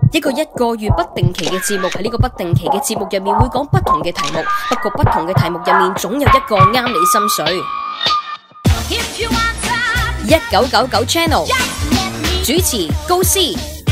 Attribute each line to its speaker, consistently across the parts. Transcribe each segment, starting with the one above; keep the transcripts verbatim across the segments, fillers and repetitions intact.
Speaker 1: 一個一個月不定期嘅節目，喺呢個不定期嘅節目入面會講不同嘅題目，不過不同嘅題目入面總有一個啱你心水。一九九九 Channel 主持高斯，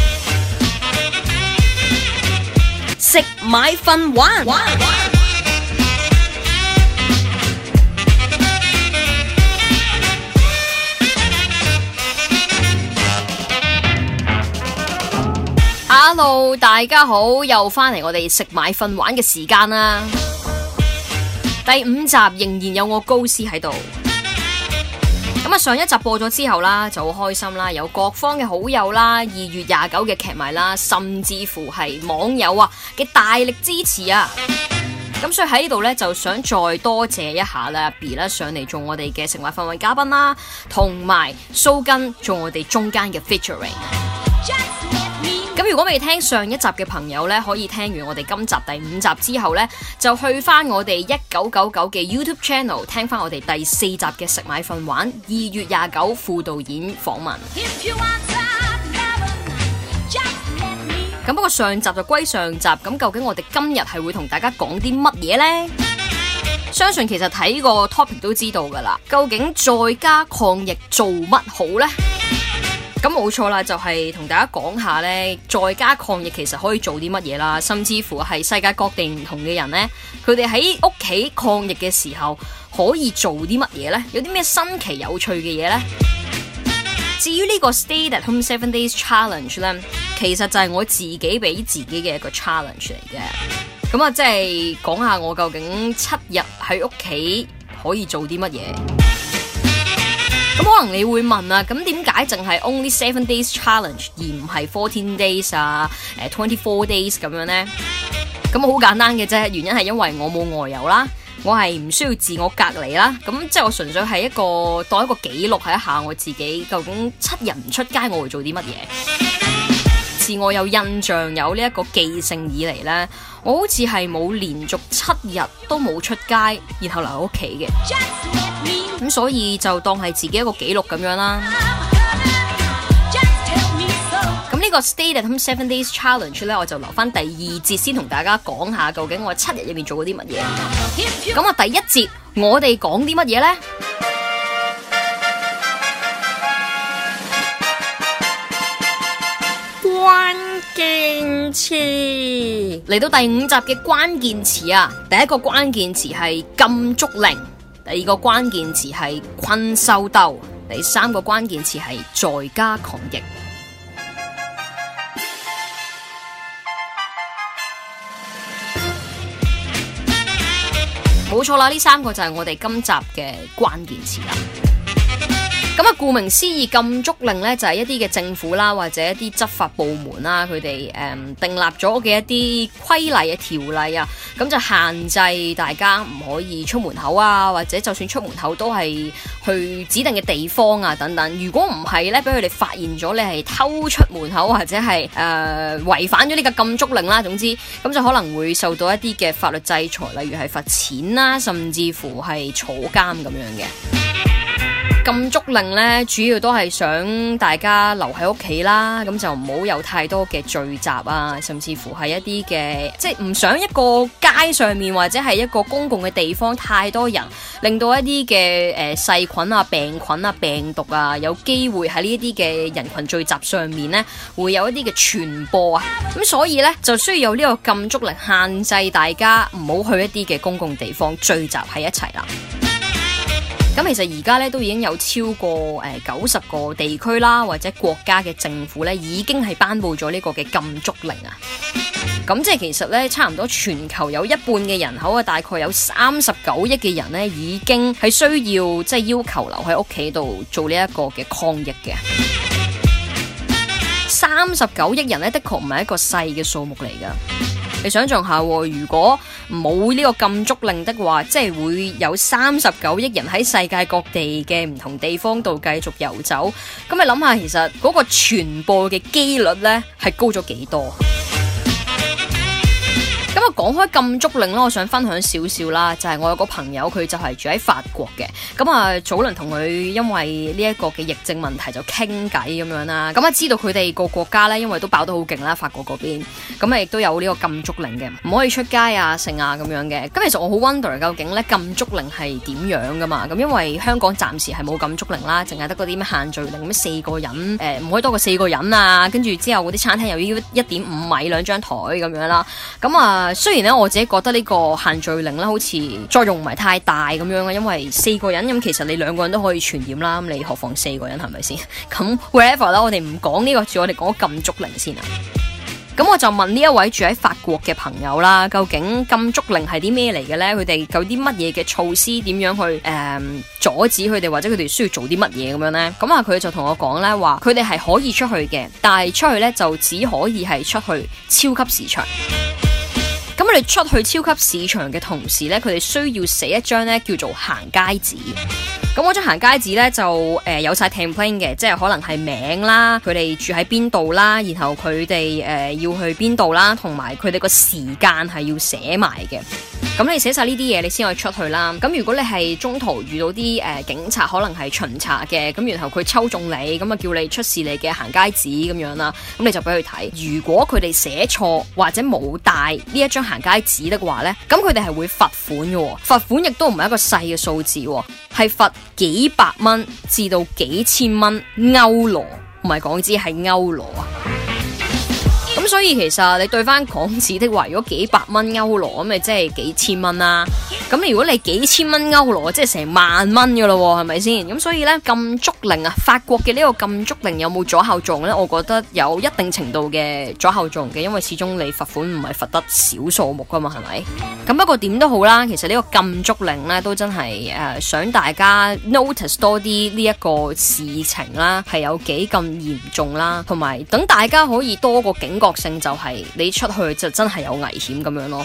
Speaker 1: 食買瞓玩。Hello， 大家好，又翻嚟我哋食買瞓玩嘅時間啦。第五集仍然有我高斯喺度。咁啊，上一集播咗之後啦，就好開心啦，有各方嘅好友啦，二月廿九嘅劇迷啦，甚至乎係網友啊嘅大力支持啊。咁所以喺呢度呢，就想再多謝一下啦 B 啦上嚟做我哋嘅食買瞓玩嘉賓啦，同埋蘇根做我哋中間嘅 featuring。咁如果未聽上一集嘅朋友呢，可以聽完我哋今集第五集之後呢，就去翻我哋一九九九嘅 YouTube Channel 聽翻我哋第四集嘅食買瞓玩二月廿九副導演訪問。咁不過上集就歸上集，咁究竟我哋今日係會同大家講啲乜嘢呢？相信其實睇個 topic 都知道噶啦，究竟在家抗疫做乜好呢？咁冇錯啦，就係同大家講下呢，在家抗疫其實可以做啲乜嘢啦，甚至乎係世界各地唔同嘅人呢，佢哋喺屋企抗疫嘅時候可以做啲乜嘢呢？有啲咩新奇有趣嘅嘢呢？至於呢個 Stay at Home Seven Days Challenge 呢，其實就係我自己俾自己嘅一個 challenge 嚟嘅。咁啊，即係講下我究竟七日喺屋企可以做啲乜嘢？咁可能你會問啊，咁點解淨係 only seven days challenge 而唔係 fourteen days 啊，誒 twenty four days 咁樣呢？咁好簡單嘅啫，原因係因為我冇外遊啦，我係唔需要自我隔離啦，咁即係我純粹係一個當一個記錄係一下我自己究竟七日唔出街我會做啲乜嘢。自我有印象有呢一個記性以嚟呢，我好似係冇連續七日都冇出街，然後留喺屋企嘅。咁所以就當係自己一個記錄咁樣啦。咁呢個 Stay at Home Seven Days Challenge 咧，我就留翻第二節先同大家講下，究竟我七日入面做過啲乜嘢。咁啊，第一節我哋講啲乜嘢呢？關鍵詞嚟到第五集嘅關鍵詞啊，第一個關鍵詞係禁足令。第二個關鍵詞係困獸鬥，第三個關鍵詞係在家抗疫。冇錯啦，呢三個就係我哋今集嘅關鍵詞啦。咁啊，顧名思義，禁足令咧就係一啲嘅政府啦，或者一啲執法部門啦，佢哋誒訂立咗嘅一啲規例啊、條例啊，咁就限制大家唔可以出門口啊，或者就算出門口都係去指定嘅地方啊等等。如果唔係咧，俾佢哋發現咗你係偷出門口或者係誒違反咗呢個禁足令啦，總之咁就可能會受到一啲嘅法律制裁，例如係罰錢啦，甚至乎係坐監咁樣嘅。禁足令咧，主要都係想大家留喺屋企啦，咁就唔好有太多嘅聚集啊，甚至乎係一啲嘅，即係唔想一個街上面或者係一個公共嘅地方太多人，令到一啲嘅誒細菌啊、病菌啊、病毒啊，有機會喺呢一啲嘅人群聚集上面咧，會有一啲嘅傳播啊，咁所以咧就需要有呢個禁足令，限制大家唔好去一啲嘅公共地方聚集喺一齊啦。咁其實而家咧都已經有超過誒九十個地區啦，或者國家嘅政府咧已經係頒布咗呢個嘅禁足令啊。咁即係其實咧，差唔多全球有一半嘅人口啊，大概有三十九億嘅人咧，已經係需要即係要求留喺屋企度做呢一個嘅抗疫嘅。三十九億人咧，的確唔係一個細嘅數目嚟噶。你想象下，如果冇呢個禁足令的話，即係會有三十九億人喺世界各地嘅唔同地方度繼續遊走。咁你諗下，其實嗰個傳播嘅機率呢係高咗幾多？ 咁啊，講開禁足令啦，我想分享少少啦，就係、是、我有個朋友，佢就係住喺法國嘅。咁啊，早輪同佢因為呢一個嘅疫症問題就傾偈咁樣啦。咁啊，知道佢哋個國家咧，因為都爆得好勁啦，法國嗰邊，咁啊亦都有呢個禁足令嘅，唔可以出街啊、剩啊咁樣嘅。咁其實我好 wonder 究竟咧禁足令係點樣噶嘛？咁因為香港暫時係冇禁足令啦，淨係得嗰啲咩限聚令，咁四個人誒唔、呃、可以多過四個人啊，跟住之後嗰啲餐廳又要一點五米兩張台咁樣啦。咁啊〜雖然咧，我自己覺得呢個限聚令咧，好似作用唔係太大咁樣啊，因為四個人咁，其實你兩個人都可以傳染啦，咁你何況四個人係咪先？咁 whatever 啦，我哋唔講呢個住，我哋講禁足令先啊。咁我就問呢一位住喺法國嘅朋友啦，究竟禁足令係啲咩嚟嘅呢？佢哋有啲乜嘢嘅措施，點樣去誒、呃、阻止佢哋，或者佢哋需要做啲乜嘢咁樣呢？咁啊，佢就同我講呢話，佢哋係可以出去嘅，但係出去呢就只可以係出去超級市場。咁我哋出去超級市場嘅同時呢，佢哋需要寫一張呢叫做行街紙。咁嗰張行街紙呢，就誒、呃、有晒 template 嘅，即係可能係名啦，佢哋住喺邊度啦，然後佢哋誒要去邊度啦，同埋佢哋個時間係要寫埋嘅。咁你寫晒呢啲嘢，你先可以出去啦。咁如果你係中途遇到啲誒、呃、警察，可能係巡查嘅，咁然後佢抽中你，咁啊叫你出示你嘅行街紙咁樣啦，咁你就俾佢睇。如果佢哋寫錯或者冇帶呢一張行街紙的話呢，咁佢哋係會罰款嘅。罰款亦都唔係一個細嘅數字，係罰幾百蚊至到幾千蚊歐羅，唔係港紙，係歐羅啊。咁所以其實你對翻港紙的話，如果幾百蚊歐羅咁，咪即係幾千蚊啦。咁如果你幾千蚊歐羅，即係成萬蚊噶咯，係咪先？咁所以呢，禁足令啊，法國嘅呢個禁足令有冇阻嚇作用呢？我覺得有一定程度嘅阻嚇作用嘅，因為始終你罰款唔係罰得少數目噶嘛，係咪？咁不過點都好啦，其實呢個禁足令呢，都真係誒、呃、想大家 notice 多啲呢一個事情啦，係有幾咁嚴重啦，同埋等大家可以多個警覺性，就係你出去就真係有危險咁樣咯。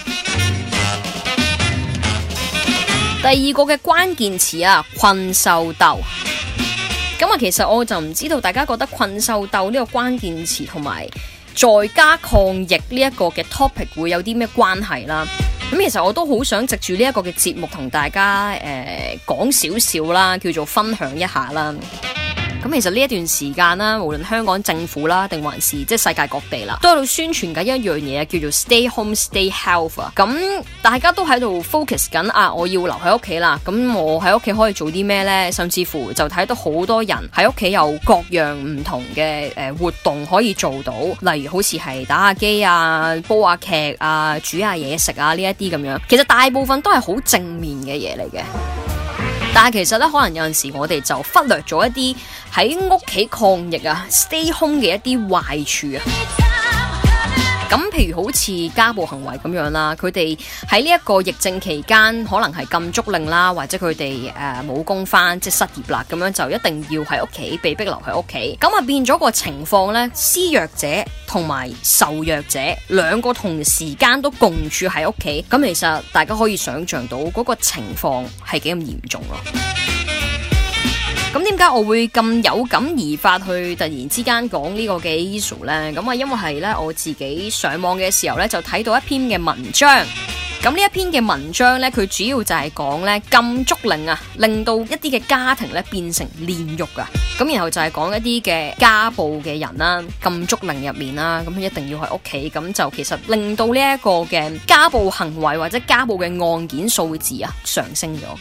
Speaker 1: 第二個嘅關鍵詞啊，困獸鬥。咁啊，其實我就唔知道大家覺得困獸鬥呢個關鍵詞同埋在家抗疫呢一個嘅 topic 會有啲咩關係啦？咁其實我都好想藉住呢一個嘅節目同大家誒講少少啦，叫做分享一下啦。咁其實呢一段時間啦，無論香港政府啦，定還是即係世界各地啦，都喺度宣傳緊一樣嘢，叫做 Stay Home Stay Health 啊。咁大家都喺度 focus 緊啊，我要留喺屋企啦。咁我喺屋企可以做啲咩呢？甚至乎就睇到好多人喺屋企有各樣唔同嘅誒活動可以做到，例如好似係打下機啊、煲下劇啊、煮下嘢食啊呢一啲咁樣。其實大部分都係好正面嘅嘢嚟嘅。但係其實咧，可能有陣時我哋就忽略咗一啲喺屋企抗疫啊 stay home 嘅一啲壞處啊。咁譬如好似家暴行為咁樣啦，佢哋喺呢一個疫症期間，可能係禁足令啦，或者佢哋誒冇工返，即係失業啦，咁樣就一定要喺屋企，被逼留喺屋企。咁啊變咗個情況呢，施虐者同埋受虐者兩個同時間都共處喺屋企，咁其實大家可以想象到嗰個情況係幾咁嚴重咯。咁點解我會咁有感而發去突然之間講呢個嘅 issue 呢？咁啊，因為係咧我自己上網嘅時候咧，就睇到一篇嘅文章。咁呢一篇嘅文章咧，佢主要就係講咧禁足令啊，令到一啲嘅家庭咧變成煉獄啊。咁然後就係講一啲嘅家暴嘅人啦，禁足令入面啦，咁一定要喺屋企，咁就其實令到呢一個嘅家暴行為或者家暴嘅案件數字啊上升咗。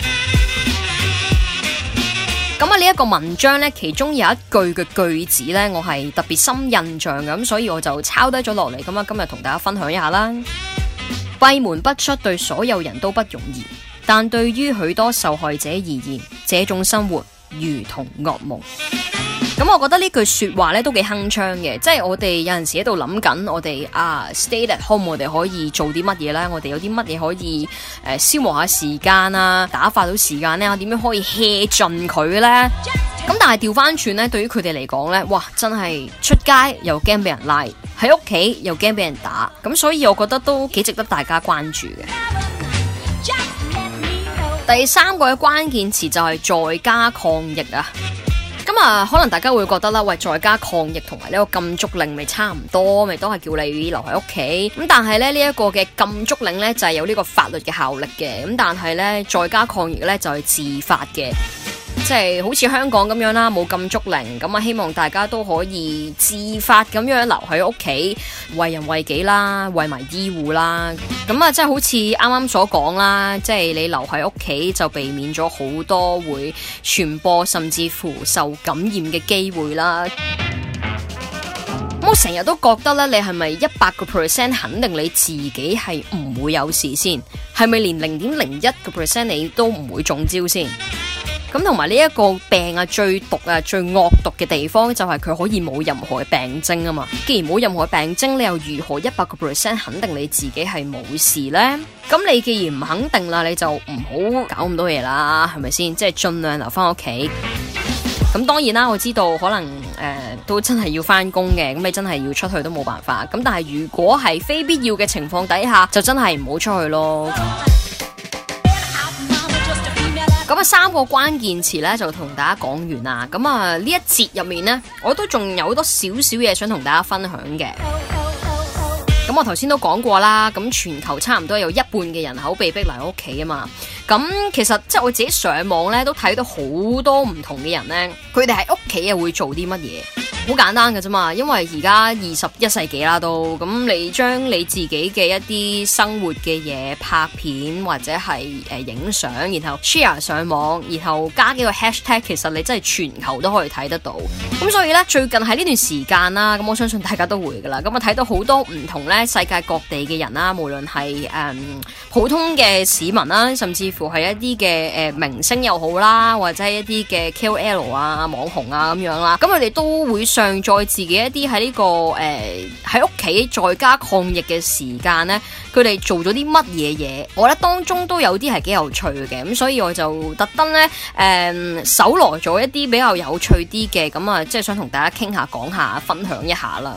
Speaker 1: 咁啊，呢一個文章呢，其中有一句嘅句子呢，我係特別深印象嘅，咁所以我就抄低咗落嚟。咁啊，今日同大家分享一下啦。閉門不出對所有人都不容易，但對於許多受害者而言，這種生活如同噩夢。咁我覺得呢句說話咧都幾鏗鏘嘅，即係我哋有陣時喺度諗緊，我哋啊 stay at home，我哋可以做啲乜嘢咧？我哋有啲乜嘢可以誒、呃、消磨下時間啊，打發到時間咧？點樣可以 hea 盡佢咧？咁但係調翻轉咧，對於佢哋嚟講咧，哇，真係出街又驚俾人拉，喺屋企又驚俾人打，咁所以我覺得都幾值得大家關注嘅。第三個嘅關鍵詞就係在家抗疫啊。咁咁啊，可能大家會覺得啦，喂，在家抗疫同埋呢個禁足令咪差唔多，咪都係叫你留喺屋企。咁但係咧呢一個嘅禁足令咧就係有呢個法律嘅效力嘅。咁但係咧在家抗疫咧就係自發嘅。即係好似香港咁樣啦，冇禁足令，咁啊希望大家都可以自發咁樣留喺屋企，為人為己啦，為埋醫護啦。咁啊，即係好似啱啱所講啦，即係你留喺屋企就避免咗好多會傳播甚至乎受感染嘅機會啦。咁我成日都覺得咧，你係咪一百個 percent 肯定你自己係唔會有事先？係咪連零點零一個 percent 你都唔會中招先？咁同埋呢一個病啊，最毒啊，最惡毒嘅地方就係佢可以冇任何嘅病徵啊嘛。既然冇任何病徵，你又如何一百個 percent 肯定你自己係冇事呢？咁你既然唔肯定啦，你就唔好搞咁多嘢啦，係咪先？即係盡量留翻屋企。咁當然啦，我知道可能誒、呃、都真係要翻工嘅，咁你真係要出去都冇辦法。咁但係如果係非必要嘅情況底下，就真係唔好出去咯。咁啊，三個關鍵詞咧就同大家講完啦。咁啊，呢一節入面呢，我都仲有好多少少嘢想同大家分享嘅。咁我頭先都講過啦，咁全球差唔多有一半嘅人口被逼留喺屋企啊嘛。咁其實即係我自己上網咧，都睇到好多唔同嘅人咧，佢哋喺屋企啊會做啲乜嘢？好簡單㗎啫嘛，因為而家二十一世紀啦都，咁你將你自己嘅一啲生活嘅嘢拍片或者係誒影相，然後 share 上網，然後加幾個 hashtag， 其實你真係全球都可以睇得到。咁所以咧，最近喺呢段時間啦，咁我相信大家都會噶啦，咁啊睇到好多唔同咧世界各地嘅人啦，無論係誒普通嘅市民啦，甚至乎係一啲嘅誒明星又好啦，或者係一啲嘅 K O L 啊、網紅啊咁樣啦，咁佢哋都會上載自己一啲喺呢個誒喺屋企在家抗疫嘅時間呢，佢哋做咗啲乜嘢嘢？我覺得當中都有啲係幾有趣嘅，咁所以我就特登呢誒搜羅咗一啲比較有趣啲嘅，咁啊即係想同大家傾下、講下、分享一下啦。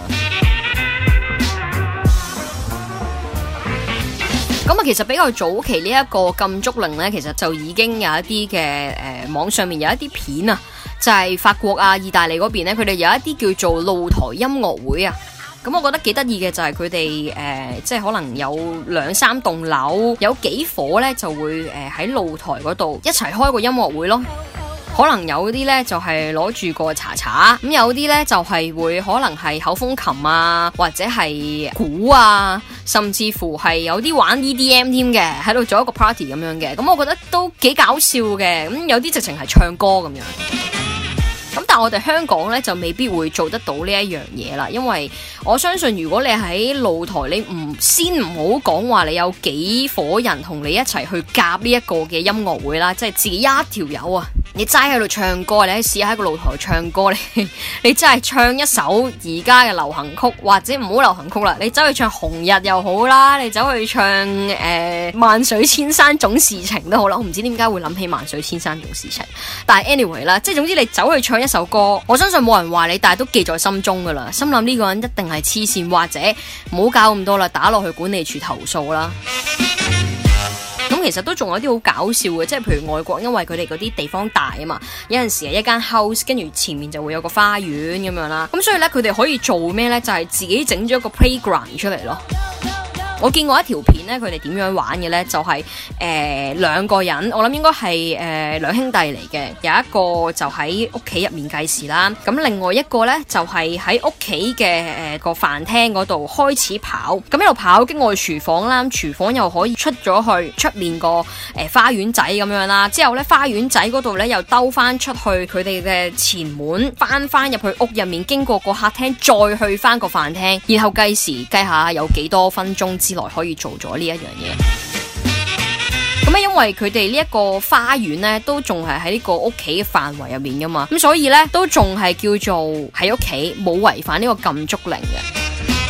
Speaker 1: 咁啊，其實比較早期呢一個禁足令呢，其實就已經有一啲嘅誒網上面有一啲片啊。就係法國啊、意大利嗰邊咧，佢哋有一啲叫做露台音樂會啊。咁我覺得幾得意嘅就係佢哋誒，即係可能有兩三棟樓，有幾伙咧就會誒喺露台嗰度一齊開個音樂會咯。可能有啲咧就係攞住個茶茶，咁有啲咧就係會可能係口風琴啊，或者係鼓啊，甚至乎係有啲玩 E D M 添嘅，喺度做一個 party 咁樣嘅。咁我覺得都幾搞笑嘅。咁有啲直情係唱歌咁樣。咁但係我哋香港咧就未必會做得到呢一樣嘢啦，因為我相信如果你喺露台，你唔先唔好講話你有幾夥人同你一齊去夾呢一個嘅音樂會啦，即係自己一條友啊，你齋喺度唱歌，你喺試下喺個露台唱歌，你你真係唱一首而家嘅流行曲，或者唔好流行曲啦，你走去唱紅日又好啦，你走去唱誒、呃、萬水千山總是情都好啦，我唔知點解會諗起萬水千山總是情，但係 anyway 啦，即係總之你走去唱一首歌，我相信冇人話你，但係都記在心中噶啦。心諗呢個人一定係黐線，或者唔好搞咁多啦，打落去管理處投訴啦。咁其實都仲有啲好搞笑嘅，即係譬如外國，因為佢哋嗰啲地方大啊嘛，有陣時係一間 house， 跟住前面就會有個花園咁樣啦。咁所以咧，佢哋可以做咩咧？就係、是、自己整咗個 playground 出嚟咯。我見過一條片咧，佢哋點樣玩嘅咧？就係誒兩個人，我諗應該係誒兩兄弟嚟嘅，有一個就喺屋企入面計時啦，咁另外一個咧就係喺屋企嘅誒個飯廳嗰度開始跑，咁一路跑經過廚房啦，廚房又可以出咗去出面個誒、呃、花園仔咁樣啦，之後咧花園仔嗰度咧又兜翻出去佢哋嘅前門，翻翻入去屋入面，經過個客廳，再去翻個飯廳，然後計時計下有幾多分鐘之內可以做咗呢一樣嘢。咁啊，因為佢哋呢一個花園咧，都仲係喺呢個屋企嘅範圍入面噶嘛，咁所以咧都仲係叫做喺屋企冇違反呢個禁足令嘅。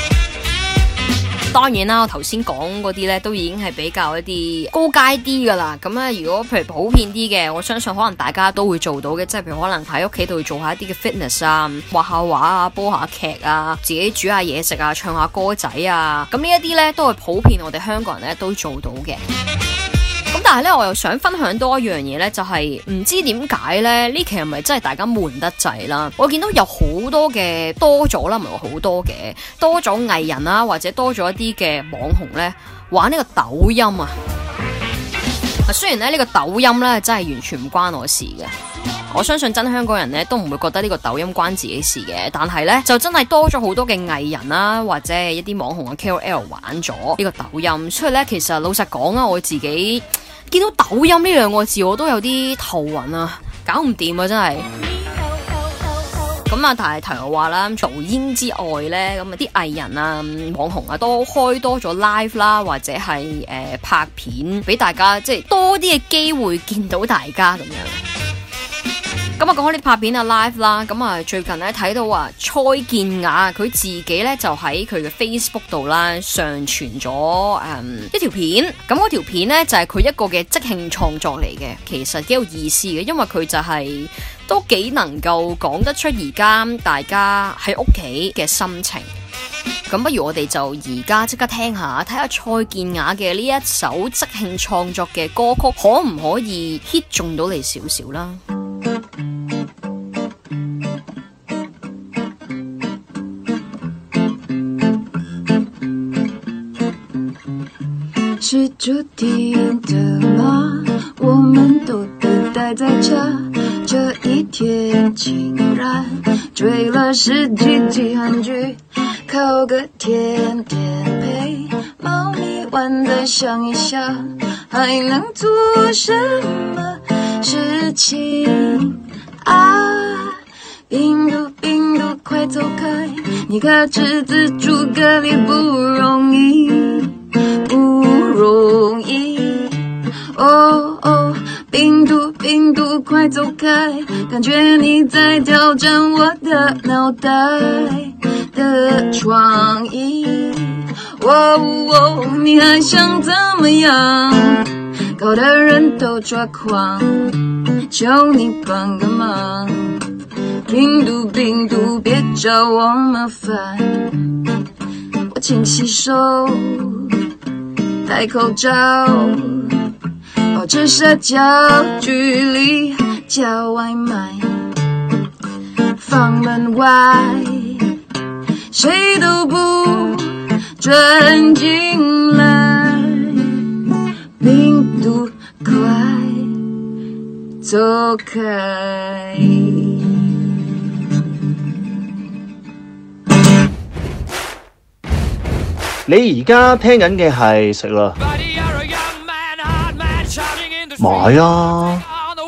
Speaker 1: 當然啦，我頭先講嗰啲咧都已經係比較一啲高階啲噶啦。咁啊，如果譬如普遍啲嘅，我相信可能大家都會做到嘅，即係譬如可能喺屋企度做下一啲嘅 fitness 啊，畫下畫啊，煲下劇啊，自己煮下嘢食啊，唱下歌仔啊。咁呢一啲咧都係普遍我哋香港人咧都做到嘅。咁咁但係咧，我又想分享多一樣嘢咧，就係、是、唔知點解咧呢期係咪真係大家悶得滯啦？我見到有好多嘅多咗啦，唔係話好多嘅多咗藝人啦，或者多咗一啲嘅網紅咧玩呢個抖音啊。雖然咧呢、這個抖音咧真係完全唔關我事嘅，我相信真香港人咧都唔會覺得呢個抖音關自己事嘅，但係咧就真係多咗好多嘅藝人啦，或者係一啲網紅嘅 K O L 玩咗呢個抖音，所以咧其實老實講啊，我自己見到抖音呢兩個字我都有啲頭暈啊，搞唔掂啊真係。咁啊，但係題外話啦，抖音之外咧，咁啊啲藝人啊、網紅啊都開多咗 live 啦，或者係誒、呃、拍片俾大家，即係多啲嘅機會見到大家咁樣。咁啊，講開啲拍片啊 live 啦，咁啊最近咧睇到啊蔡健雅佢自己咧就喺佢嘅 Facebook 度啦上傳咗誒、嗯、一條片，咁嗰條片咧就係、是、佢一個嘅即興創作嚟嘅，其實幾有意思嘅，因為佢就係、是。都幾能夠講得出而家大家喺屋企嘅心情，咁不如我哋就而家即刻聽下，睇下蔡健雅嘅呢一首即興創作嘅歌曲，可唔可以 hit 中到你少少啦？
Speaker 2: 是注定的嗎？我們都得待在家，這一天竟然追了十幾集韓劇，烤個甜點配貓咪玩得像一想，還能做什麼事情啊？病毒病毒快走開，你可知自主隔離不容易不容易，哦哦，病毒病毒快走開，感覺你在挑戰我的腦袋的創意，哦哦，你還想怎麼樣？搞得人都抓狂，求你幫個忙，病毒病毒別找我麻煩，我勤洗手，戴口罩，保持社交距離，叫外賣，放門外，誰都不准進來，病毒快走開。
Speaker 3: 你而家聽緊嘅係食啦，買啊，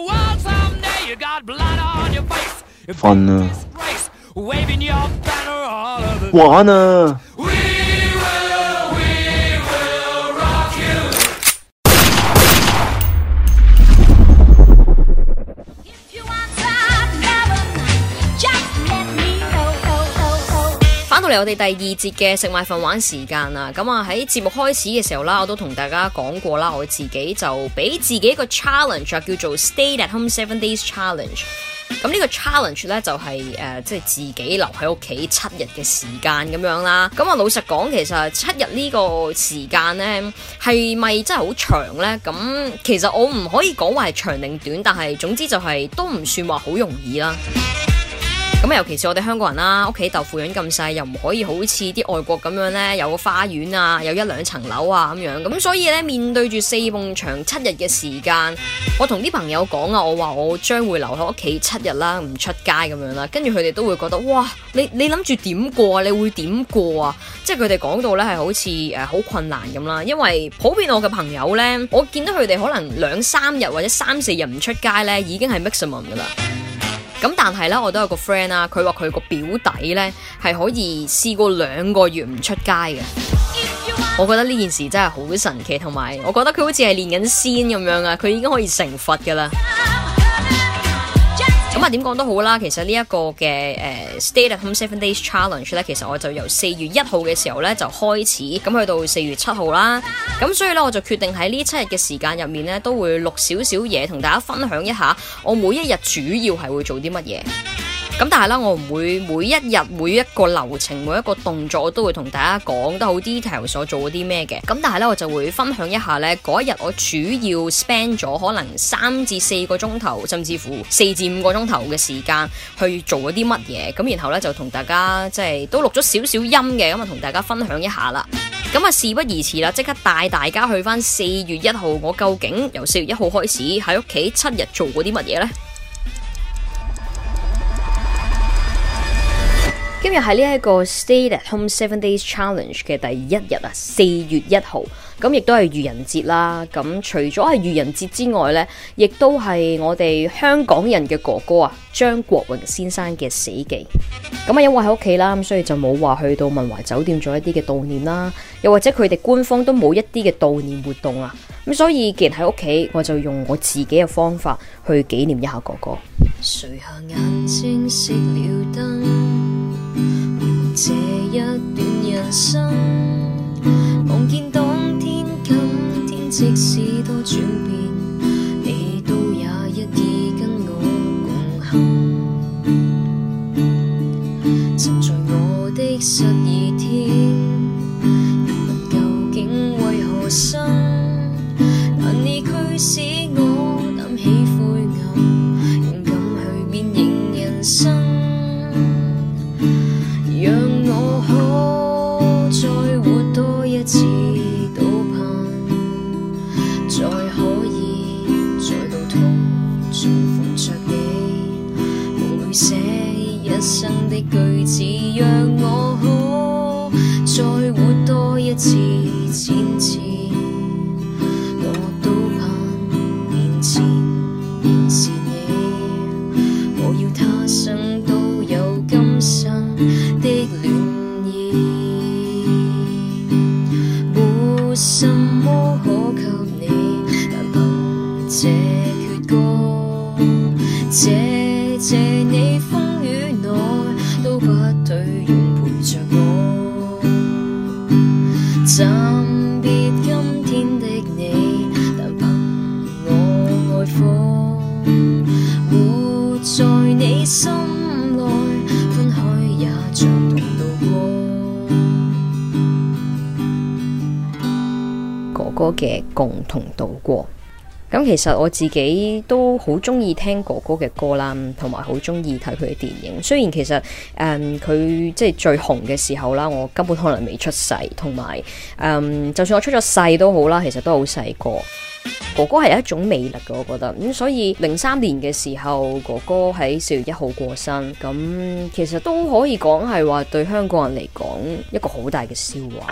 Speaker 3: 瞓啊，玩啊。
Speaker 1: 嚟我哋第二節嘅食買瞓玩時間啦，咁啊喺節目開始嘅時候啦，我都同大家講過啦，我自己就俾自己一個 challenge 叫做 Stay at Home Seven Days Challenge。咁呢個 challenge 咧就係、是、誒、呃、即係自己留喺屋企七日嘅時間咁樣啦。咁啊老實講，其實七日呢個時間咧係咪真係好長咧？咁其實我唔可以講話係長定短，但係總之就係、是、都唔算話好容易啦。咁尤其是我哋香港人啦，屋企豆腐院咁細，又唔可以好似啲外國咁樣呢，有個花園啊，有一兩層樓啊咁樣。咁所以呢，面對住四埲牆七日嘅時間，我同啲朋友講啊，我話我將會留喺屋企七日啦，唔出街咁樣啦。跟住佢哋都會覺得，哇，你你諗住點過啊？你會點過啊？即係佢哋講到呢係好似誒好困難咁啦。因為普遍我嘅朋友呢，我見到佢哋可能兩三日或者三四日唔出街呢，已經係 maximum 噶啦。咁但係咧，我都有個 friend 啦，佢話佢個表弟咧係可以試過兩個月唔出街嘅。我覺得呢件事真係好神奇，同埋我覺得佢好似係練緊仙咁樣啊，佢已經可以成佛噶啦。咁啊，點講都好啦，其實呢一個嘅誒、呃、Stay at Home Seven Days Challenge 咧，其實我就由四月一號嘅時候咧就開始，咁去到四月七號啦。咁所以咧，我就決定喺呢七日嘅時間入面咧，都會錄少少嘢，同大家分享一下我每一日主要係會做啲乜嘢。 咁但係啦，我唔會每一日每一個流程每一個動作我都會同大家講得好 detail 所做咗啲咩嘅。咁但係咧，我就會分享一下咧嗰一日我主要 spend 咗可能三至四個鐘頭，甚至乎四至五個鐘頭嘅時間去做咗啲乜嘢。咁然後咧就同大家即係都錄咗少少音嘅，咁啊同大家分享一下啦。咁啊事不宜遲啦，即刻帶大家去翻四月一號，我究竟由四月一號開始喺屋企七日做過啲乜嘢呢？今日係呢一個 Stay at Home Seven Days Challenge 嘅第一日啊，四月一號，咁亦都係愚人節啦。咁除咗係愚人節之外呢，亦都係我哋香港人嘅哥哥啊，張國榮先生嘅死忌。咁啊，因為喺屋企啦，咁所以就冇話去到文懷酒店做一啲嘅悼念啦，又或者佢哋官方都冇一啲嘅悼念活動啊。咁所以既然喺屋企，我就用我自己嘅方法去紀念一下哥哥。
Speaker 2: 垂下眼睛，熄了燈，這一段人生，望見當天今天即使多轉變，你都也一意跟我共行。曾在我的失意天，人問究竟為何生，但你驅使我擔起灰暗，勇敢去面迎人生。讓我可再活多一次，都盼再可以在路途重逢着你，夢裏寫一生的句子，讓我可再活多一次，千次我都盼面前仍是你，我要他生都有今生的戀意，沒什麼可給你，但憑這闕歌，謝謝你風雨內都不退讓陪着我，暫別今天的你，但憑我愛火，活在你心內，分開也像同渡過。
Speaker 1: 哥哥嘅共同度過。咁其實我自己都好中意聽哥哥嘅歌啦，同埋好中意睇佢嘅電影。雖然其實誒佢即係最紅嘅時候啦，我根本可能未出世，同埋誒就算我出咗世都好啦，其實都好細個。哥哥係一種魅力嘅，我覺得咁、嗯，所以零三年嘅時候，哥哥喺四月一號過身，咁、嗯、其實都可以講係話對香港人嚟講一個好大嘅笑話。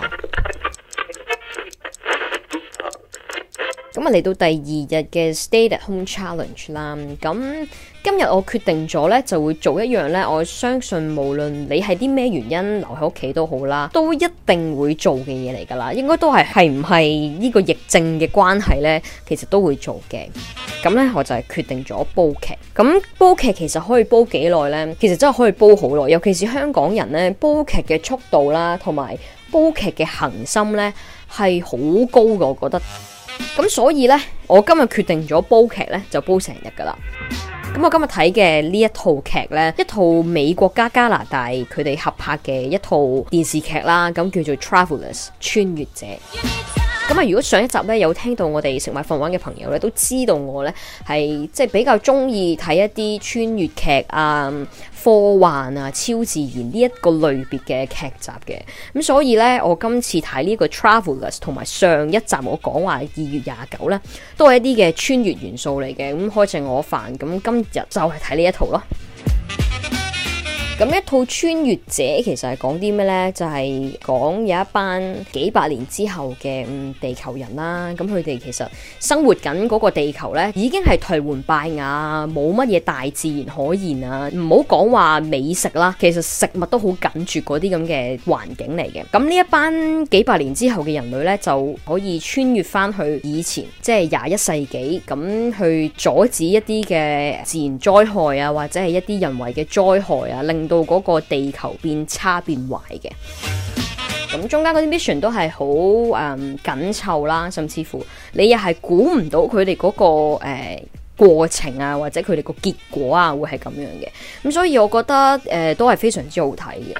Speaker 1: 咁啊，嚟到第二日嘅 Stay at Home Challenge 啦，咁今日我決定咗呢，就會做一樣呢。我相信無論你係啲咩原因留喺屋企都好啦，都一定會做嘅嘢嚟噶啦，應該都係係唔係呢個疫症嘅關係呢，其實都會做嘅。咁呢，我就係決定咗煲劇。咁煲劇其實可以煲幾耐呢？其實真係可以煲好耐，尤其是香港人呢，煲劇嘅速度啦，同埋煲劇嘅恒心呢，係好高嘅，我覺得。咁所以呢，我今日決定咗煲劇呢，就煲成日噶啦。咁我今日睇嘅呢一套劇呢，一套美國加加拿大佢哋合拍嘅一套電視劇啦，咁叫做 Travelers 穿越者。咁啊，如果上一集呢有聽到我哋食買瞓玩嘅朋友呢，都知道我呢係即係比較中意睇一啲穿越劇啊、科幻啊、超自然呢一個類別嘅劇集嘅。咁所以呢，我今次睇呢個 Travelers 同埋上一集我講話二月廿九呢，都係一啲嘅穿越元素嚟嘅。咁開正我飯，咁今日就係睇呢一套咯。咁一套穿越者其實係講啲咩呢？就係、是、講有一班幾百年之後嘅、嗯、地球人啦，咁佢哋其實生活緊嗰個地球呢，已經係頹垣敗瓦，冇乜嘢大自然可言啊！唔好講話美食啦，其實食物都好緊絕嗰啲咁嘅環境嚟嘅。咁呢一班幾百年之後嘅人類呢，就可以穿越翻去以前，即係廿一世紀，咁去阻止一啲嘅自然災害啊，或者係一啲人為嘅災害啊，令到嗰個地球變差變壞嘅。咁中間嗰啲 mission 都係好誒緊湊啦，甚至乎你又係估唔到佢哋嗰個誒過程啊，或者佢哋個結果啊，會係咁樣嘅。咁所以我覺得誒、呃、都係非常之好睇嘅。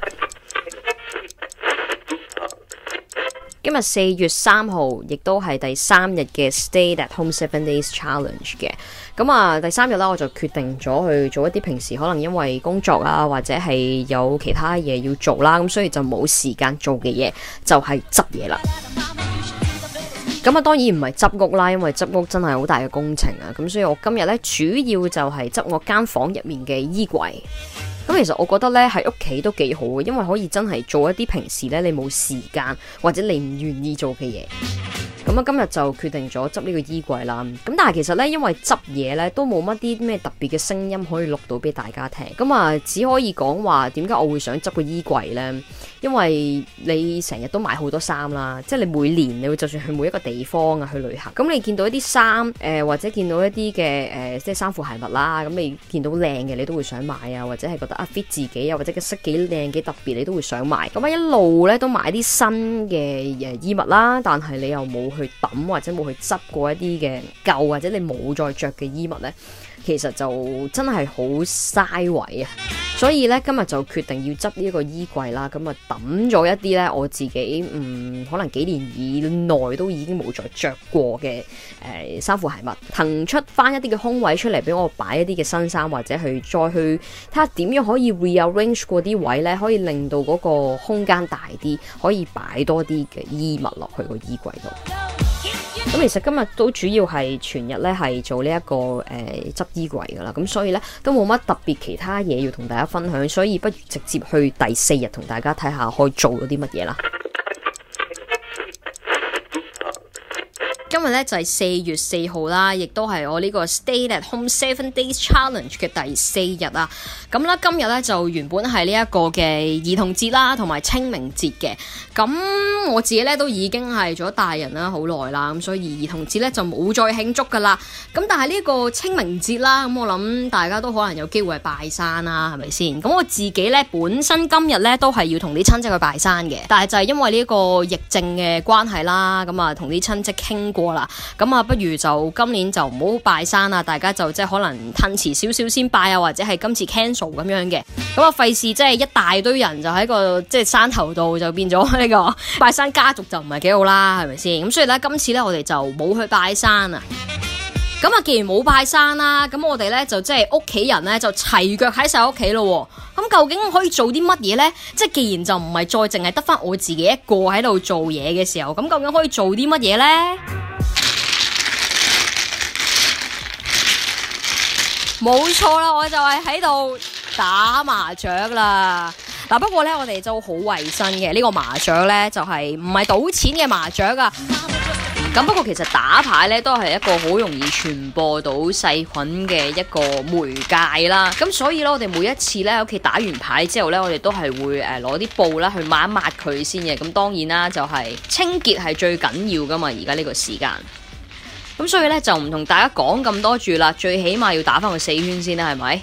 Speaker 1: 今日四月三號，亦都係第三日嘅 Stay at Home Seven Days Challenge 嘅。咁啊，第三日啦，我就決定咗去做一啲平時可能因為工作啊，或者係有其他嘢要做啦，咁所以就冇時間做嘅嘢，就係執嘢啦。咁啊，當然唔係執屋啦，因為執屋真係好大嘅工程啊。咁所以我今日咧主要就係執我間房入面嘅衣櫃。咁其實我覺得咧喺屋企都幾好嘅，因為可以真係做一啲平時咧你冇時間或者你唔願意做嘅嘢。咁啊，今日就決定咗執呢個衣櫃啦。咁但係其實咧，因為執嘢咧都冇乜啲咩特別嘅聲音可以錄到俾大家聽。咁啊，只可以講話點解我會想執個衣櫃呢？因為你成日都買好多衫啦，即係你每年你會就算去每一個地方啊去旅行，咁你見到一啲衫誒，或者見到一啲嘅誒，即係衫褲鞋襪啦，咁你見到靚嘅你都會想買啊，或者係覺得啊 fit 自己啊，或者個色幾靚幾特別，你都會想買。咁啊一路咧都買啲新嘅誒衣物啦，但係你又冇去抌或者冇去執過一啲嘅舊或者你冇再着嘅衣物呢，其實就真係好嘥位啊！所以咧今日就決定要執呢一個衣櫃啦，咁啊抌咗一啲咧我自己嗯可能幾年以內都已經冇再着過嘅誒衫褲鞋襪，騰出翻一啲嘅空位出嚟俾我擺一啲嘅新衫，或者去再去睇下點樣可以 rearrange 過啲位咧，可以令到嗰個空間大啲，可以擺多啲嘅衣物落去個衣櫃度。咁其實今日都主要係全日咧係做呢、這、一個誒執、呃、衣櫃噶啦，咁所以咧都冇乜特別其他嘢要同大家分享，所以不如直接去第四日同大家睇下可以做到啲乜嘢啦。今日咧就係四月四號啦，亦都係我呢個 Stay at Home Seven Days Challenge 嘅第四日啊。咁咧今日咧就原本係呢一個嘅兒童節啦，同埋清明節嘅。咁我自己咧都已經係做咗大人啦，好耐啦，咁所以兒童節咧就冇再慶祝噶啦。咁但係呢個清明節啦，咁我諗大家都可能有機會係拜山啦，係咪先？咁我自己咧本身今日咧都係要同啲親戚去拜山嘅，但係就係因為呢個疫症嘅關係啦，咁啊同啲親戚傾過啦，咁啊不如就今年就唔好拜山啦，大家就即係可能褪遲少少先拜啊，或者係今次 cancel 咁樣嘅，咁啊費事即係一大堆人就喺個即係山頭度就變咗呢個拜山家族就唔係幾好啦，係咪先？咁所以咧今次咧我哋就冇去拜山啊。咁啊，既然冇拜山啦，咁我哋咧就即係屋企人咧就齊腳喺晒屋企咯。咁究竟可以做啲乜嘢咧？即係既然就唔係再淨係得翻我自己一個喺度做嘢嘅時候，咁究竟可以做啲乜嘢咧？冇錯啦，我就係喺度打麻雀啦。嗱，不過咧我哋就好衛生嘅，呢個麻雀咧就係唔係賭錢嘅麻雀啊。咁不過其實打牌咧都係一個好容易傳播到細菌嘅一個媒介啦。咁所以咧我哋每一次咧喺屋企打完牌之後咧，我哋都係會誒攞啲布啦去抹一抹佢先嘅。咁當然啦，就係清潔係最緊要噶嘛，而家呢個時間。咁所以咧就唔同大家講咁多住啦，最起碼要打翻個四圈先啦，係咪？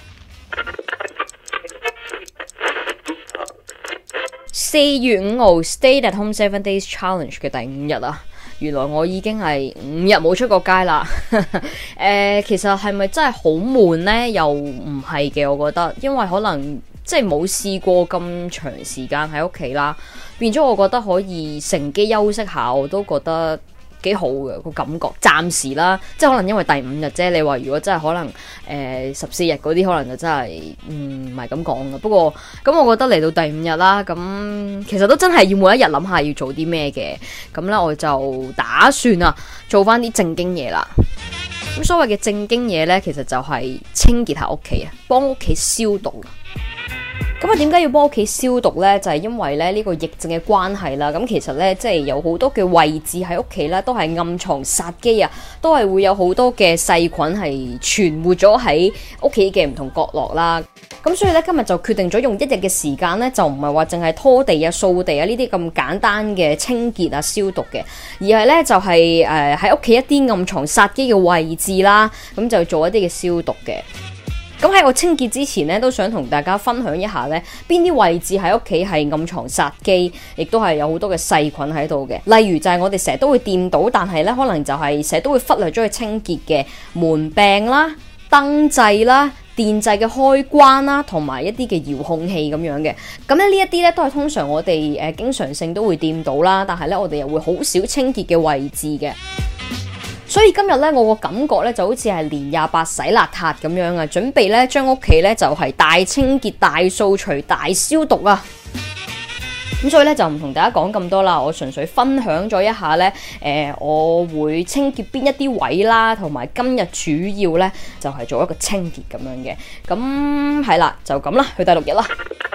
Speaker 1: 四月五號 Stay at Home Seven Days Challenge 嘅第五日啊，原來我已經係五日冇出過街啦。誒、呃，其實係咪真係好悶呢？又唔係嘅，我覺得，因為可能即係冇試過咁長時間喺屋企啦，變咗我覺得可以乘機休息下，我都覺得幾好嘅個感覺。暫時啦，即係可能因為第五日啫。你話如果真係可能誒十四日嗰啲，可能就真係嗯唔係咁講嘅。不過咁，我覺得嚟到第五日啦，咁其實都真係要每一日諗下要做啲咩嘅。咁咧，我就打算啊做翻啲正經嘢啦。咁所謂嘅正經嘢咧，其實就係清潔下屋企啊，幫屋企消毒。咁啊，點解要幫屋企消毒呢？就係因為咧呢個疫症嘅關係啦。咁其實呢，即係有好多嘅位置喺屋企咧，都係暗藏殺機啊，都係會有好多嘅細菌係存活咗喺屋企嘅唔同角落啦。咁所以咧，今日就決定咗用一日嘅時間咧，就唔係話淨係拖地啊、掃地啊呢啲咁簡單嘅清潔啊、消毒嘅，而係咧就係誒喺屋企一啲暗藏殺機嘅位置啦，咁就做一啲嘅消毒嘅。 咁喺我清潔之前咧，都想同大家分享一下咧，邊啲位置喺屋企係暗藏殺機，亦都係有好多嘅細菌喺度嘅。例如就係我哋成日都會掂到，但係咧可能就係成日都會忽略咗去清潔嘅門柄啦、燈掣啦、電掣嘅開關啦，同埋一啲嘅遙控器咁樣嘅。咁咧呢一啲咧都係通常我哋誒、呃、經常性都會掂到啦，但係咧我哋又會好少清潔嘅位置嘅。所以今日咧，我個感覺咧就好似係年廿八洗邋遢咁樣啊，準備咧將屋企咧就係大清潔、大掃除、大消毒啊！咁所以咧就唔同大家講咁多啦，我純粹分享咗一下咧，誒、呃，我會清潔邊一啲位啦，同埋今日主要咧就係做一個清潔咁樣嘅。咁係啦，就咁啦，去第六日啦。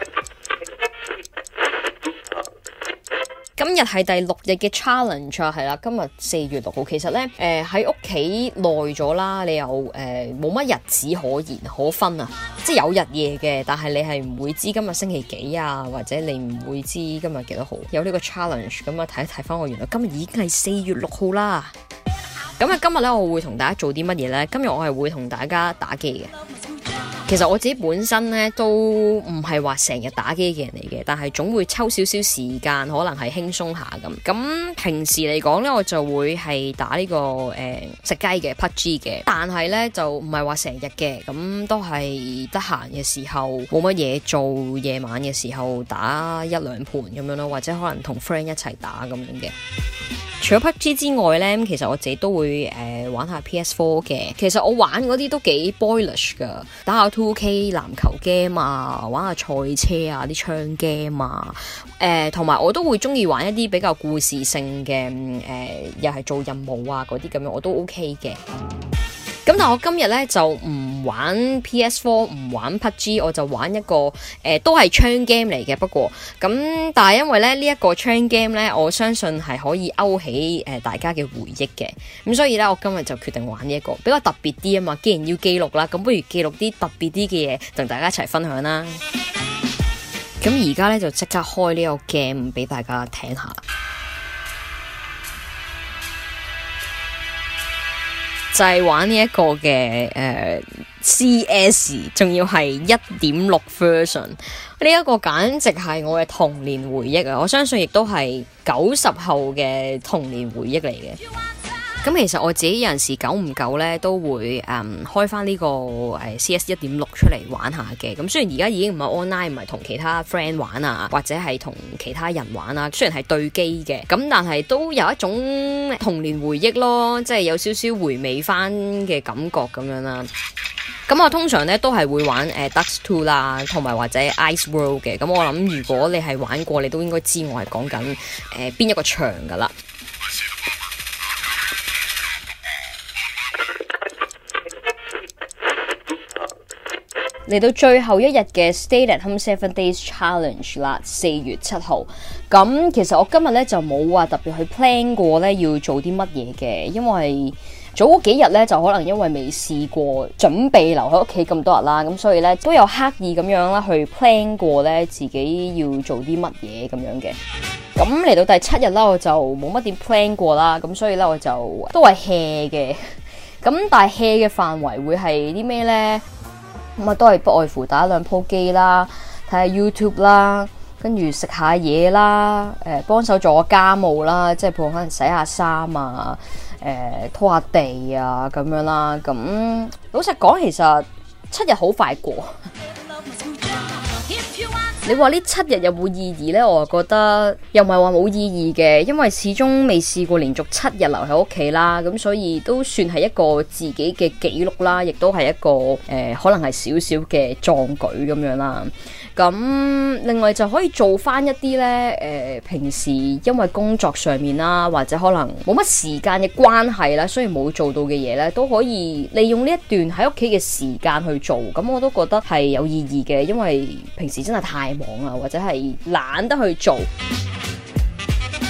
Speaker 1: 今日係第六日嘅 challenge 啊，係啦，今日四月六號，其實咧，誒喺屋企耐咗啦，你又誒冇乜日子可言可分啊，即係有日夜嘅，但係你係唔會知今日星期幾啊，或者你唔會知今日幾多號，有呢個 challenge，咁啊睇一睇翻我，原來今日已經係四月六號啦。咁啊，今日咧我會同大家做啲乜嘢咧？今日我係會同大家打機嘅。其實我自己本身咧都唔係話成日打機嘅人嚟嘅，但係總會抽少少時間，可能係輕鬆下咁。咁平時嚟講咧，我就會係打呢、這個誒、呃、食雞嘅 P U B G 嘅，但係咧就唔係話成日嘅，咁都係得閒嘅時候冇乜嘢做，夜晚嘅時候打一兩盤咁樣咯，或者可能同 friend 一齊打咁樣嘅。除咗 P U B G 之外咧，其實我自己都會誒、呃、玩下 P S 四 嘅。其實我玩嗰啲都幾 boyish 噶，打下 two K 籃球 game 啊，玩下賽車啊，啲槍 game 啊，誒同埋我都會中意玩一啲比較故事性嘅，誒、呃、又係做任務啊嗰啲咁樣，我都 OK 嘅。咁但係我今日咧就唔玩 P S 四，唔玩 P U B G， 我就玩一個誒、呃、都係槍 game 嚟嘅。不過咁但係因為咧呢一、這個槍 game 咧，我相信係可以勾起誒、呃、大家嘅回憶嘅。咁所以咧我今日就決定玩呢、這、一個比較特別啲啊嘛。既然要記錄啦，咁不如記錄啲特別啲嘅嘢同大家一齊分享啦。咁而家咧就即刻開呢個 game 俾大家聽下。就係玩呢一個嘅誒、呃、C S， 仲要係一點六 version， 呢一個簡直係我嘅童年回憶啊！我相信亦都係九十後嘅童年回憶嚟嘅。咁其實我自己有陣時久唔久咧都會誒、嗯、開翻呢、這個誒 C S 一點六出嚟玩下嘅。咁雖然而家已經唔係 online，唔係同其他 friend 玩啊，或者係同其他人玩啊，雖然係對機嘅，咁但係都有一種童年回憶咯，即係有少少回味翻嘅感覺咁樣啦。咁我通常咧都係會玩誒、呃、Dust 二啦，同埋或者 Ice World 嘅。咁我諗如果你係玩過，你都應該知我係講緊誒邊一個場噶啦。嚟到最後一日嘅 Stay at Home Seven Days Challenge 啦，四月七號。咁其實我今日咧就冇話特別去 plan 過咧要做啲乜嘢嘅，因為早嗰幾日咧就可能因為未試過準備留喺屋企咁多日啦，咁所以咧都有刻意咁樣啦去 plan 過咧自己要做啲乜嘢咁樣嘅。咁嚟到第七日啦，我就冇乜點 plan 過啦，咁所以咧我就都係 hea 嘅。咁但係 hea 嘅範圍會係啲咩咧？咁啊，都係不外乎打兩鋪機啦，睇下 YouTube 啦，跟住食下嘢啦，誒、呃、幫手做下家務啦，即係譬如可能洗下衫啊，誒、呃、拖下地啊咁樣啦。咁老實講，其實七日好快過。你話呢七日有冇意義呢？我覺得又唔係話冇意義嘅，因為始終未試過連續七日留喺屋企啦，咁所以都算係一個自己嘅記錄啦，亦都係一個誒、呃、可能係少少嘅壯舉咁樣啦。咁另外就可以做翻一啲呢，誒、呃、平時因為工作上面啦，或者可能冇乜時間嘅關係啦，所以冇做到嘅嘢呢，都可以利用呢一段喺屋企嘅時間去做。咁我都覺得係有意義嘅，因為平時真係太忙啊，或者係懶得去做。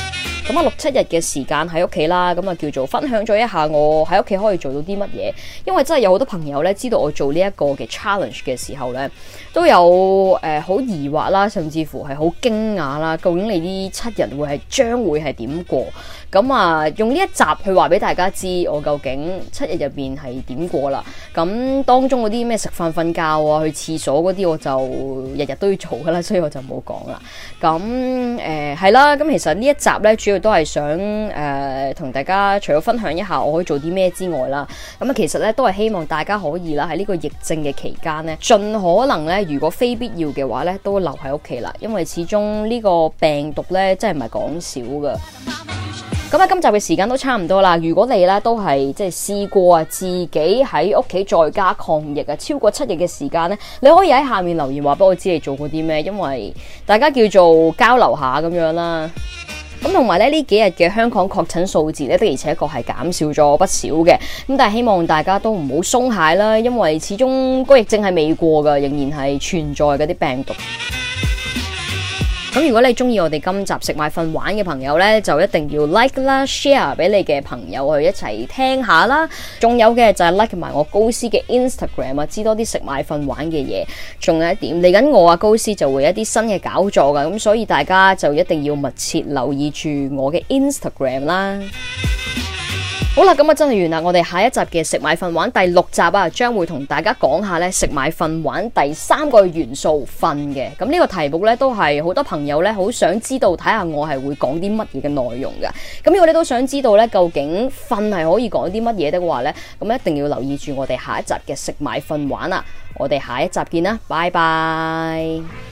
Speaker 1: 咁啊六七日嘅時間喺屋企啦，咁啊叫做分享咗一下我喺屋企可以做到啲乜嘢。因為真係有好多朋友咧知道我做呢一個嘅 challenge 嘅時候咧，都有誒好、呃、疑惑啦，甚至乎係好驚訝啦。究竟你呢七日會係將會係點過？咁啊用呢一集去話俾大家知，我究竟七日入邊係點過啦。咁當中嗰啲咩食飯、瞓覺啊、去廁所嗰啲，我就日日都要做噶啦，所以我就冇講啦。咁誒係啦，咁其實呢一集咧主要都係想誒同、呃、大家除咗分享一下我可以做啲咩之外啦，咁啊其實咧都係希望大家可以啦喺呢個疫症嘅期間咧，盡可能咧如果非必要嘅話咧都留喺屋企啦，因為始終呢個病毒咧真係唔係講少噶。咁啊，今集嘅時間都差唔多啦。如果你咧都係即係試過啊，自己喺屋企在家抗疫啊，超過七日嘅時間咧，你可以喺下面留言話俾我知你做過啲咩，因為大家叫做交流下咁樣啦。咁同埋咧呢幾日嘅香港確診數字咧的而且確係減少咗不少嘅。咁但係希望大家都唔好鬆懈啦，因為始終個疫症係未過噶，仍然係存在嗰啲病毒。咁如果你中意我哋今集食買瞓玩嘅朋友呢，就一定要 like 啦 share 俾你嘅朋友去一齊聽下啦。仲有嘅就係 like 埋我高斯嘅 Instagram 啊，知多啲食買瞓玩嘅嘢。仲有一點，嚟緊我啊高斯就會有一啲新嘅搞作噶，咁所以大家就一定要密切留意住我嘅 Instagram 啦。好啦，咁啊真係完啦！我哋下一集嘅食買瞓玩第六集啊，將會同大家講下咧食買瞓玩第三個元素瞓嘅。咁呢個題目咧都係好多朋友咧好想知道，睇下我係會講啲乜嘢嘅內容噶。咁如果你都想知道咧究竟瞓係可以講啲乜嘢的話咧，咁一定要留意住我哋下一集嘅食買瞓玩啊！我哋下一集見啦，拜拜。